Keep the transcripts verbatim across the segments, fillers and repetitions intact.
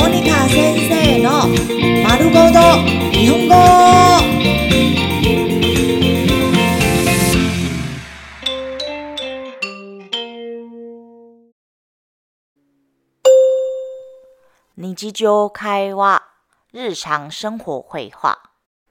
モニカ先生の丸ごと日本語。日常会話、日常生活会話。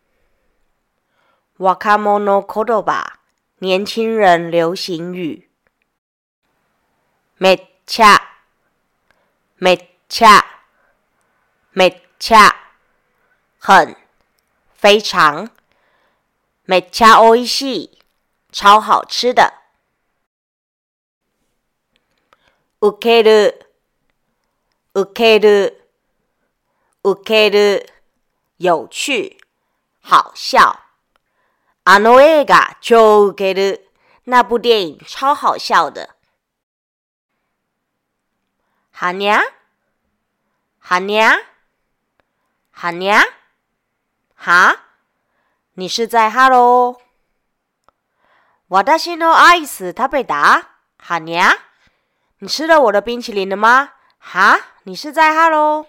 若者言葉、年輕人流行語。めっちゃ、めっちゃ、めっちゃ、很、非常、めっちゃおいしい、超好吃的。ウケる、ウケる、ウケる、有趣、好笑。あの映画超ウケる，那部电影超好笑的。はにゃはにゃはにゃ哈？你是在哈喽？私のアイス食べた？はにゃ？你吃了我的冰淇淋了吗？哈？你是在哈喽？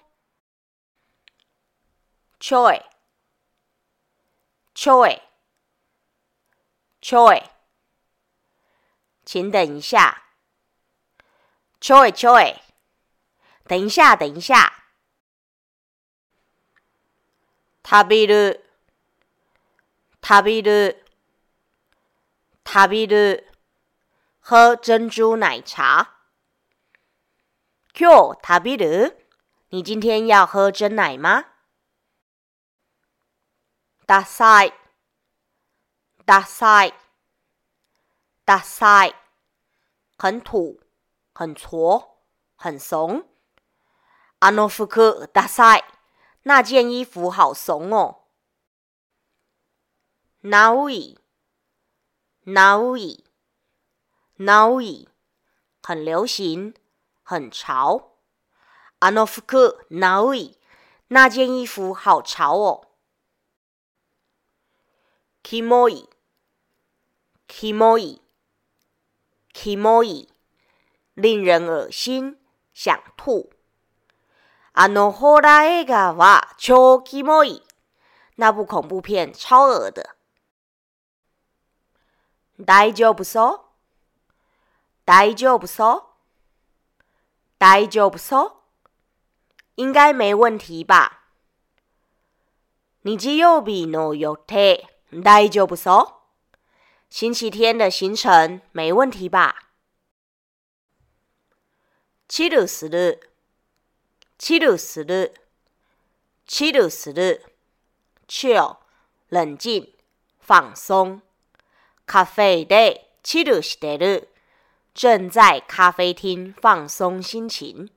ちょいちょいちょい请等一下。ちょいちょい等一下等一下。食べる食べる食べる喝珍珠奶茶。今日食べる？你今天要喝珍奶吗？ダサいダサいダサい很土很挫很怂。あの服ダサい，那件衣服好怂哦。ナウイナウイナウイ很流行很潮。あの服ナウイ，那件衣服好潮哦。キモいキモいキモい令人恶心想吐。あのホラー映画は超キモい，那部恐怖片超恶的。大丈夫そう大丈夫そう大丈夫そう应该没问题吧。日曜日の予定大丈夫そう星期天的行程没问题吧。チルするチルするチルする chill 冷静放松。カフェでチルしてる正在咖啡厅放松心情。